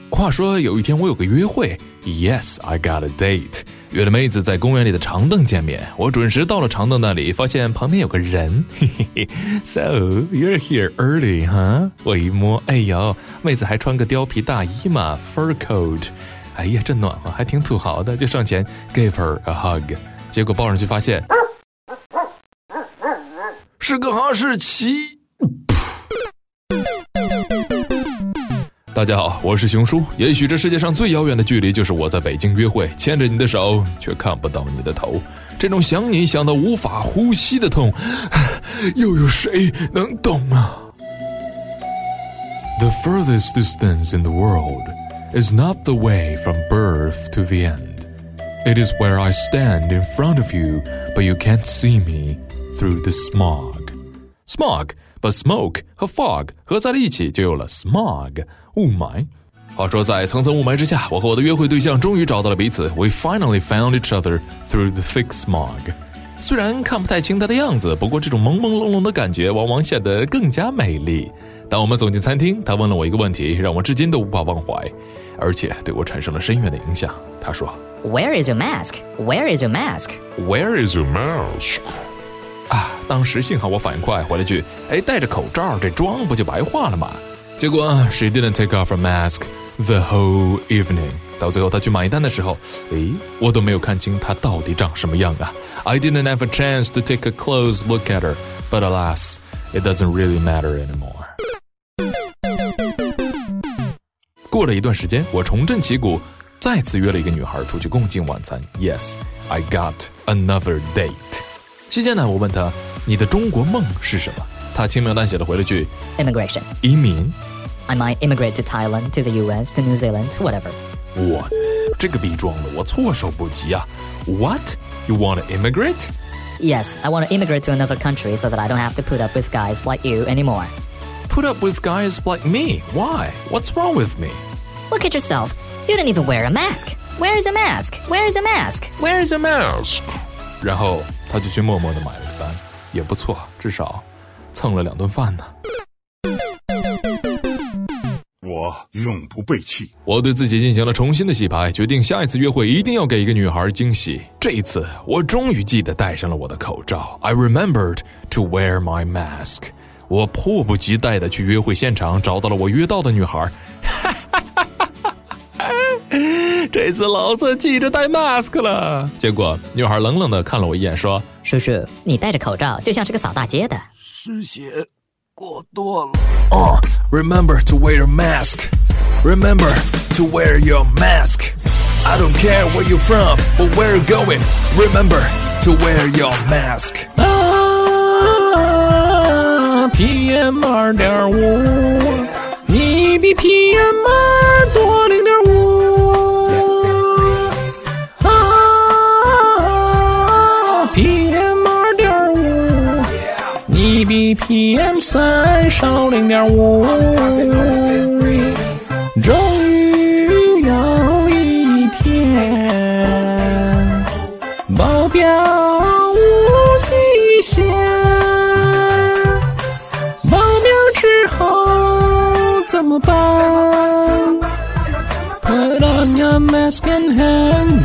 话说有一天我有个约会 Yes, I got a date 约了妹子在公园里的长凳见面，我准时到了长凳那里，发现旁边有个人So, you're here early, huh? 我一摸，哎呦，妹子还穿个貂皮大衣嘛 Fur coat 哎呀，真暖和，还挺土豪的，就上前 Gave her a hug 结果抱上去发现是个哈士奇。大家好，我是熊叔。也许这世界上最遥远的距离就是我在北京约会，牵着你的手却看不到你的头，这种想你想到无法呼吸的痛又有谁能懂啊？ The furthest distance in the world is not the way from birth to the end. It is where I stand in front of you, but you can't see me through the smog. Smog, but smoke 和 fog 合在了一起就有了 smog 雾霾。话说在层层雾霾之下，我和我的约会对象终于找到了彼此。We finally found each other through the thick smog. 虽然看不太清他的样子，不过这种朦朦胧胧的感觉往往显得更加美丽。当我们走进餐厅，他问了我一个问题，让我至今都无法忘怀，而且对我产生了深远的影响。他说 Where is your mask? Where is your mask? Where is your mask? 当时幸好我反应快，回了句戴着口罩这妆不就白化了吗？结果 she didn't take off her mask the whole evening. 到最后她去买单的时候，我都没有看清她到底长什么样啊。I didn't have a chance to take a close look at her, but alas, it doesn't really matter anymore. 过了一段时间，我重振旗鼓，再次约了一个女孩出去共进晚餐。Yes, I got another date. 期间呢，我问她你的中国梦是什么？她轻描淡写的回了句 Immigration. 移民。 I might immigrate to Thailand, to the US, to New Zealand, whatever. 我这个逼装的我措手不及啊。What? You want to immigrate? Yes, I want to immigrate to another country so that I don't have to put up with guys like you anymore. Put up with guys like me? Why? What's wrong with me? Look at yourself. You don't even wear a mask. Where is a mask? Where is a mask? Where is a mask? 然后他就去默默地买了个单，也不错，至少蹭了2顿饭呢。 我永不背弃。 我对自己进行了重新的洗牌，决定下一次约会一定要给一个女孩惊喜。这一次，我终于记得戴上了我的口罩。I remembered to wear my mask. 我迫不及待地去约会现场，找到了我约到的女孩。这次老子记着戴 mask 了。结果女孩冷冷地看了我一眼，说：“ 叔叔，你戴着口罩就像是个扫大街的。” 失血过多了。Remember to wear your mask. Remember to wear your mask. I don't care where you're from or where you're going. Remember to wear your mask. PM 2.5，你比 PM 2多0.5。PM 2.5，你比 PM 3少0.5。终于有一天，爆表无极限。怎么办？ Put on your mask and hand